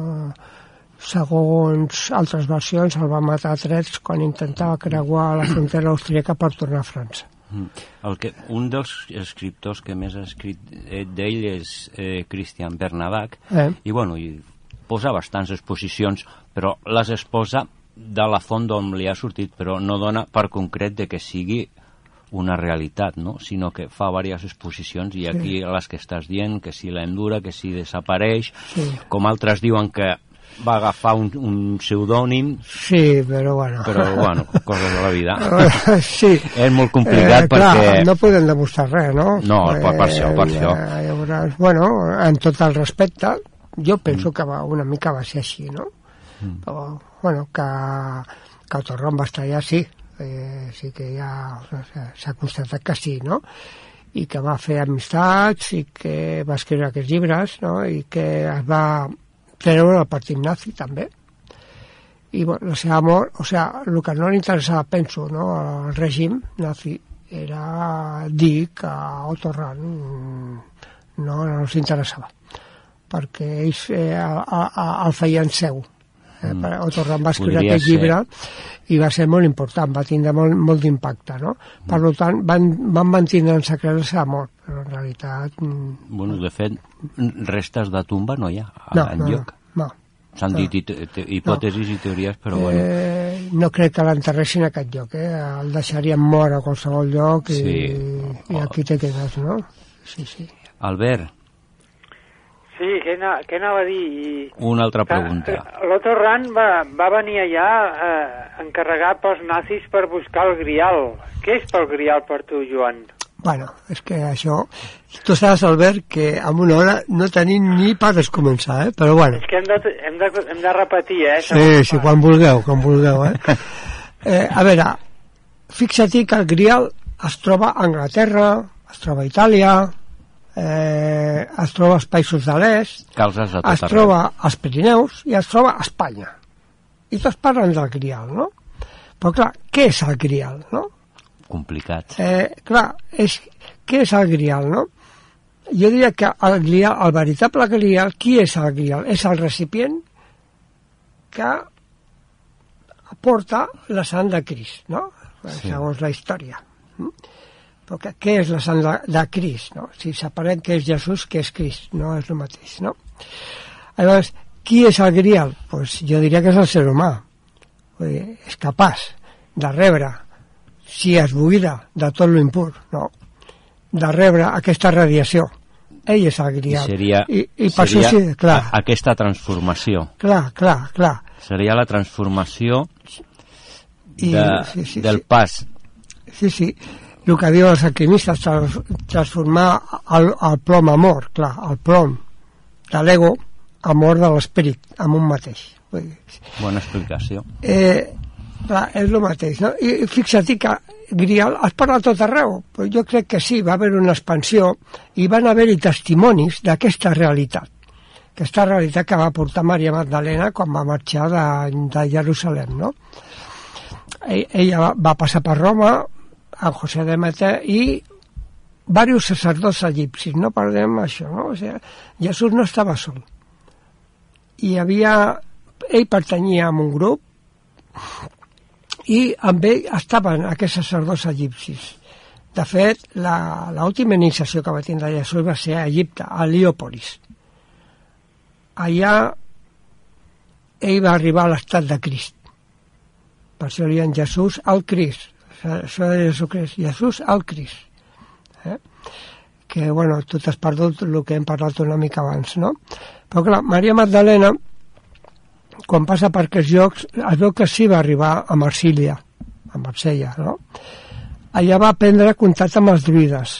Segons altres versions, el va matar a trets quan intentava creuar la frontera austríaca per tornar a França. Un dels escriptors que més ha escrit d'ell és Christian Bernadac, i posa bastants exposicions, però les exposa de la font d'on li ha sortit, però no dona per concret de que sigui una realitat, no? Sinó que fa diverses exposicions i aquí les que estàs dient, que si l'endura, que si desapareix, com altres diuen que va agafar un pseudònim. Sí, però bueno. Coses de la vida. Sí. És molt complicat perquè... Clar, no podem demostrar res, no? No, per això. Llavors, en tot el respecte, jo penso que una mica va ser així, no? Però, que Otto Rahn va estar allà, sí. Sí que ja s'ha constatat que sí, no? I que va fer amistats i que va escriure aquests llibres, no? I que es va treure el partit nazi també. I la seva mort, el que no li interessava, penso, no, al règim nazi era dir que Otto Rahn no els interessava, perquè ells el feien seu. Otto Rahn va escriure aquest llibre i va ser molt important, va tindre molt d'impacte, no? Per tant, van mantenir en secret la seva mort, però en realitat... De fet, restes de tumba no hi ha enlloc. No. S'han dit hipòtesis i teories, però no crec que l'enterressin a aquest lloc, el deixarien mort a qualsevol lloc i i aquí te quedes, no? Sí, sí. Albert, Sí, què anava a dir? una altra pregunta. L'Otto Rahn va venir allà encarregat pels nazis per buscar el Grial. Què és pel Grial per tu, Joan? Bueno, és que això... Tu saps, Albert, que en una hora no tenim ni per descomençar, però bueno. És que hem de repetir, Sí, quan vulgueu, a veure, fixa't que el Grial es troba a Anglaterra, es troba a Itàlia, es troba als països de l'est, es troba als Pirineus i es troba a Espanya. I tots parlen del Grial, no? Però clar, què és el Grial, no? Complicat. Clar, què és el Grial, no? Jo diria que el Grial, el veritable Grial, qui és el Grial? És el recipient que porta la sang de Crist, no? Sí. Segons la història. Però què és la sang de Crist, no? Si separem què és Jesús, què és Crist, no és el mateix, no? Llavors, qui és el Grial? Pues jo diria que és el ser humà. Vull dir, és capaç de rebre, si es buida de tot l'impur, no? De rebre aquesta radiació. Ell és el Grial. I per això sí, clar. Aquesta transformació. Clar. Seria la transformació del pas. Sí. El que diuen els alquimistes, transformar el plom amor, clar, el plom de l'ego, amor de l'esperit, en un mateix. Bona explicació. Clar, és el mateix, no? I fixa't que Grial es parla a tot arreu, però jo crec que sí, va haver una expansió i van haver-hi testimonis d'aquesta realitat que va portar Maria Magdalena quan va marxar de Jerusalem, no? Ella va passar per Roma, a José de Mete, i diversos sacerdots egipcis, no parlem això, no? O sigui, Jesús no estava sol. Ell pertanyia a un grup i amb ell estaven aquests sacerdots egipcis. De fet, l'última iniciació que va tindre Jesús va ser a Egipte, a Heliòpolis. Allà ell va arribar a l'estat de Crist. Per això li diuen Jesús al Crist. Això de Jesucrist, Jesús al Crist. Que, bueno, tu t'has perdut el que hem parlat una mica abans, no? Però clar, Maria Magdalena, quan passa per aquests llocs, es veu que sí va arribar a Marsella, no? Allà va prendre contacte amb els druides.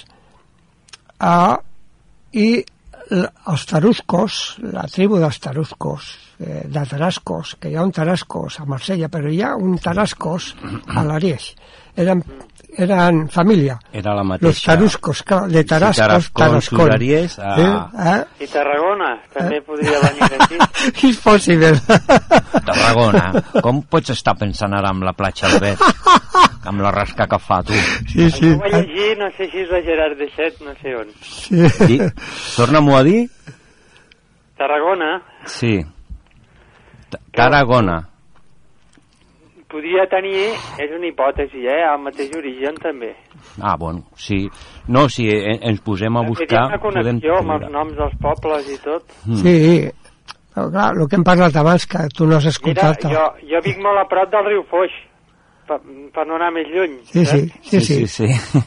I els taruscos, la tribu dels taruscos, de Tarascos, que hi ha un Tarascos a Marsella, però hi ha un Tarascos a l'Ariège. Eren família. Era la mateixa. Los taruscos, de Tarascos, Tarascon. I Tarragona, també podria venir d'aquí. És possible. Tarragona. Com pots estar pensant ara amb la platja Albert? Amb la rasca que fa, tu. Sí. Ho vaig llegir, no sé si és la Gerard de Set, no sé on. Sí. Torna-m'ho a dir? Tarragona. Sí. Tarragona. Podria tenir, és una hipòtesi, el mateix origen també. Bueno, sí. No, si ens posem a buscar... Una connexió amb els noms dels pobles i tot. Sí, però clar, el que hem parlat abans, que tu no has escoltat... Mira, jo vic molt a prop del riu Foix, per no anar més lluny. Sí.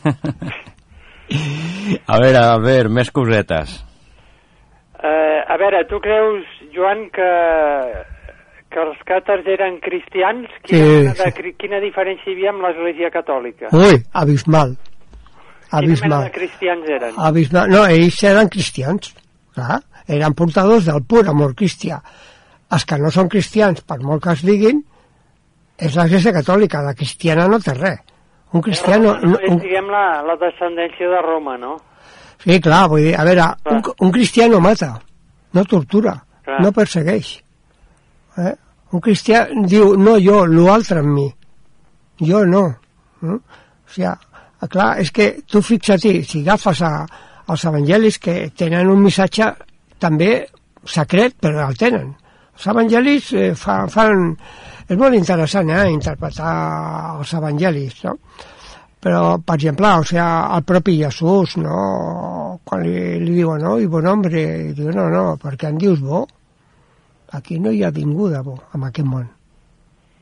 A veure, més cosetes. A veure, tu creus, Joan, que els càtars eren cristians? Quina diferència hi havia amb l'Església Catòlica? Ui, abismal. Quina mena de cristians eren? Abismal. No, ells eren cristians, clar. Eren portadors del pur amor cristià. Els que no són cristians, per molt que es diguin, és l'Església Catòlica. La cristiana no té res. Un cristiano... diguem la descendència de Roma, no? Sí, clar, vull dir, a veure, un cristià no mata, no tortura, no persegueix. Un cristià diu, no jo, l'altre en mi. Jo no. O sigui, clar, és que tu fixa't, si agafes els evangelis que tenen un missatge també secret, però el tenen. Els evangelis fan... És molt interessant, interpretar els evangelis, no? Però, per exemple, o sigui, el propi Jesús, no? Quan li diuen, no, i bon hombre, i diu, no, perquè em dius bo? Aquí no hi ha ningú de bo, en aquest món.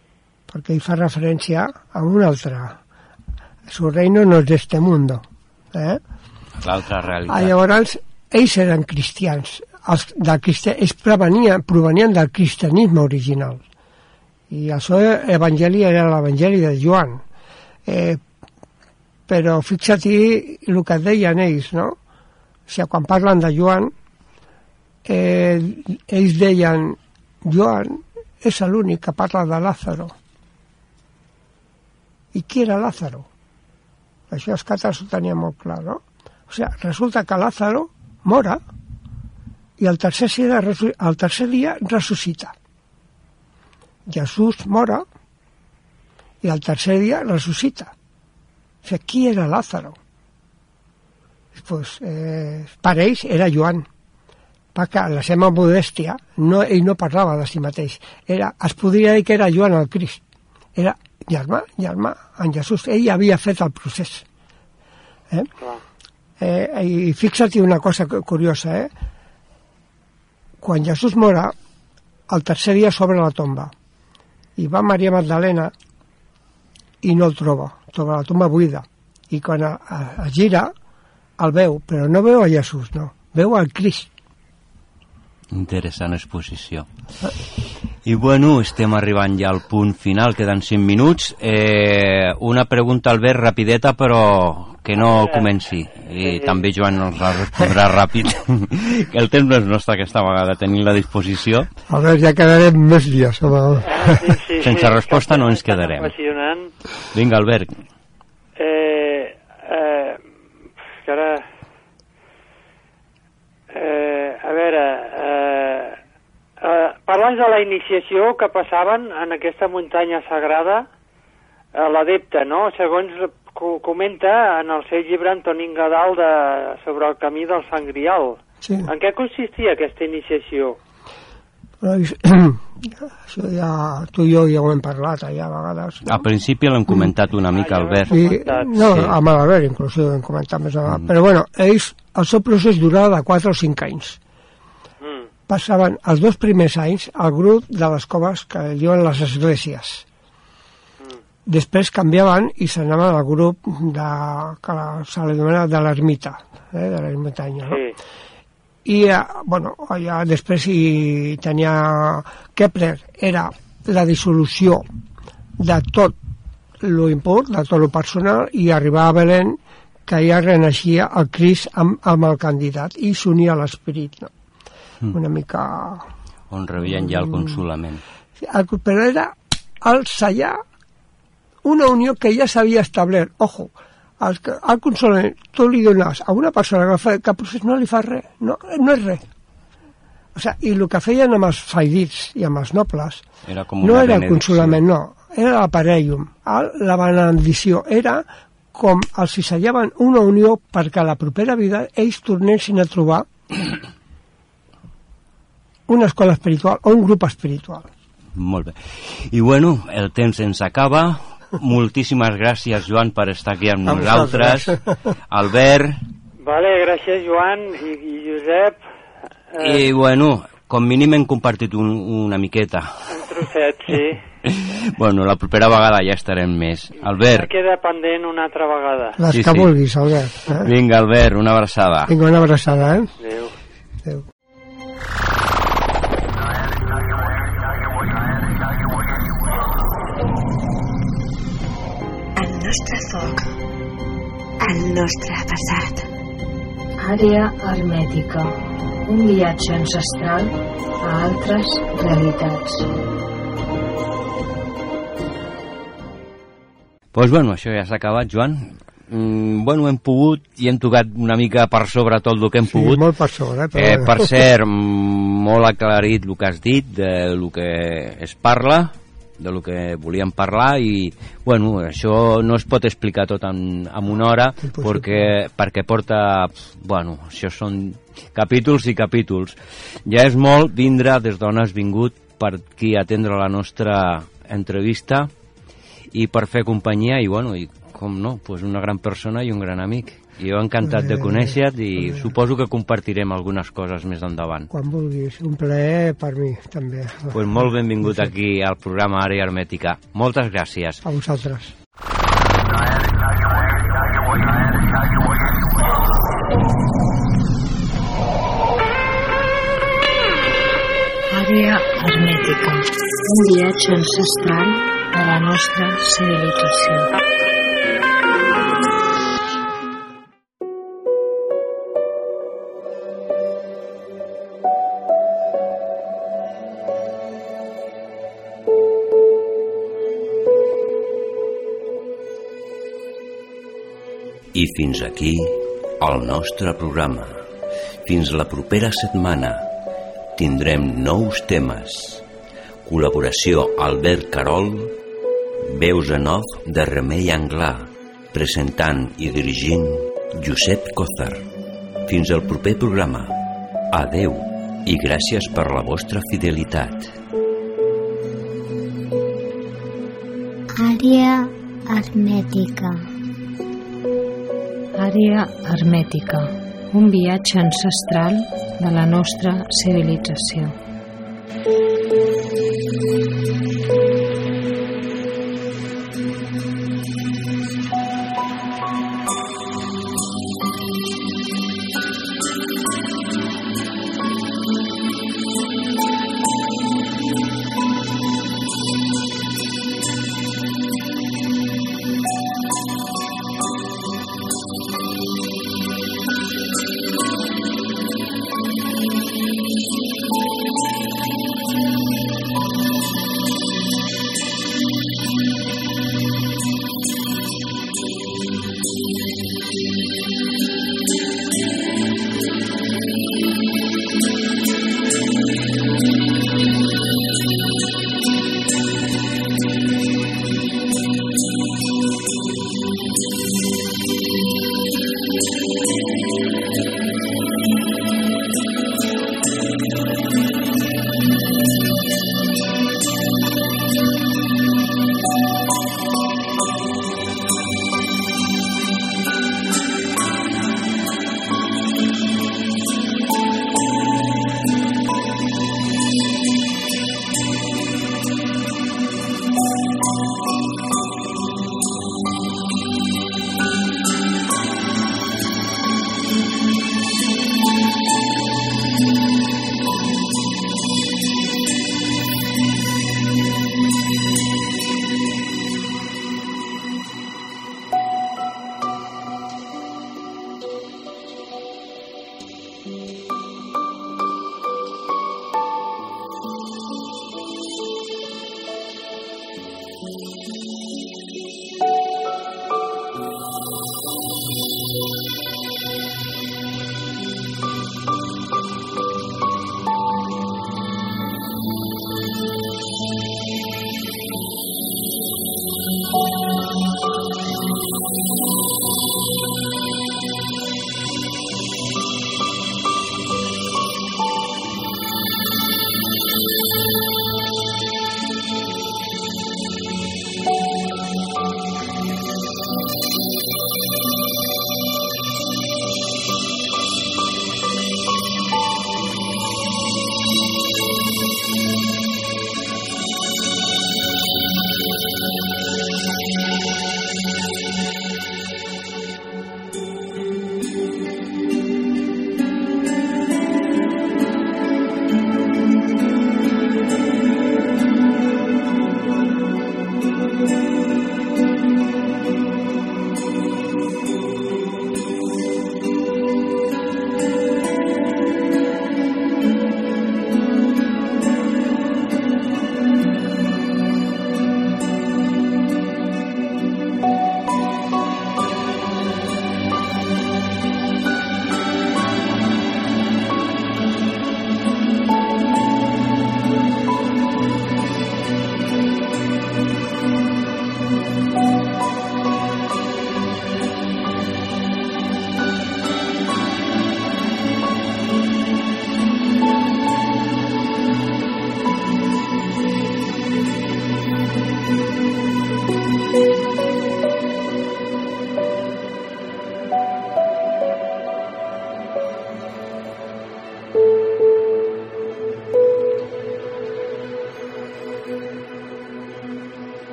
Perquè hi fa referència a un altre. Su reino no es de este mundo. L'altra realitat. Llavors, ells eren cristians. Ells provenien del cristianisme original. I el seu evangeli era l'evangeli de Joan. Però fixa't el que deien ells, no? O sigui, quan parlen de Joan, ells deien, Joan és l'únic que parla de Lázaro. I qui era Lázaro? Això els càtars ho tenien molt clar, no? O sigui, resulta que Lázaro mora i el tercer dia ressuscita. Jesús mora i el tercer dia ressuscita. O sigui, qui era Lázaro? Pues, per ells era Joan, perquè la seva modèstia, ell no parlava de si mateix, es podria dir que era Joan el Crist, era germà en Jesús, ell havia fet el procés. I fixa't una cosa curiosa, quan Jesús mora, el tercer dia s'obre la tomba, i va Maria Magdalena i no el troba la tomba buida, i quan es gira el veu, però no veu a Jesús, no, veu al Crist. Interessant exposició. I bueno, estem arribant ja al punt final, queden 5 minuts. Una pregunta, Albert, rapideta, però que no comenci. I també Joan ens la respondrà ràpid. El temps no és nostre aquesta vegada, tenim la disposició. A veure, ja quedarem més dies. Sense resposta no ens quedarem. Vinga, Albert. Ara... a veure, parles de la iniciació que passaven en aquesta muntanya sagrada, l'adepte, no? Segons comenta en el seu llibre Antonín Gadal sobre el camí del Sant Grial. Sí. En què consistia aquesta iniciació? Això ja tu i jo ja ho hem parlat allà a vegades, no? Al principi l'hem comentat una mica, Albert. No, amb l'Albert inclús ho hem comentat més endavant. Però bueno, ells, el seu procés durava de 4 o 5 anys. Passaven els 2 primers anys al grup de les coves que diuen les esglésies. Després canviaven i s'anaven al grup que se l'anomena de l'ermita, de l'ermitanya, no? Sí. I, bueno, allà després hi tenia Kepler, era la dissolució de tot lo impur, de tot lo personal, i arribava a Belén, que ja reneixia el Crist amb el candidat i s'unia a l'esperit, no? Una mica... On rebien ja el consolament. Però era el sellar una unió que ja s'havia establert. Ojo, el consolament tu li dones a una persona que procés no li fa res, no és res. O sigui, i el que feien amb els faidits i amb els nobles no era el consolament, no, era l'aparellum, la benedicció, era com els sellaven una unió perquè a la propera vida ells tornessin a trobar una escola espiritual o un grup espiritual. Molt bé. I bueno, el temps ens acaba. Moltíssimes gràcies, Joan, per estar aquí amb nosaltres. Albert. Vale, gràcies, Joan i Josep. I bueno, com mínim hem compartit una miqueta. Un trosset, sí. Bueno, la propera vegada ja estarem més. Albert. Queda pendent una altra vegada. Les que vulguis, Albert. Vinga, Albert, una abraçada. Vinga, una abraçada, Adéu. Adéu. El nostre foc, el nostre passat. Àrea hermètica, un viatge ancestral a altres realitats. Doncs bueno, això ja s'ha acabat, Joan. Bueno, hem pogut i hem tocat una mica per sobre tot el que hem pogut. Sí, molt per sobre. Per cert, molt aclarit el que has dit, del que es parla, del que volíem parlar, i bueno, això no es pot explicar tot en una hora, perquè porta, bueno, això són capítols i capítols. Ja és molt vindre des d'on has vingut per aquí atendre la nostra entrevista i per fer companyia, i bueno, i com no, pues una gran persona i un gran amic. I jo encantat de conèixer-te i suposo que compartirem algunes coses més endavant. Quan vulguis, un plaer per mi també. Pues molt benvingut aquí al programa Àrea Hermètica. Moltes gràcies. A vosaltres. Àrea hermètica, un viatge ancestral de la nostra civilització. I fins aquí el nostre programa. Fins la propera setmana. Tindrem nous temes. Col·laboració Albert Carol, veus en off de Remei Anglà, presentant i dirigint Josep Cózar. Fins al proper programa. Adeu i gràcies per la vostra fidelitat. Àrea hermètica. Àrea hermètica, un viatge ancestral de la nostra civilització.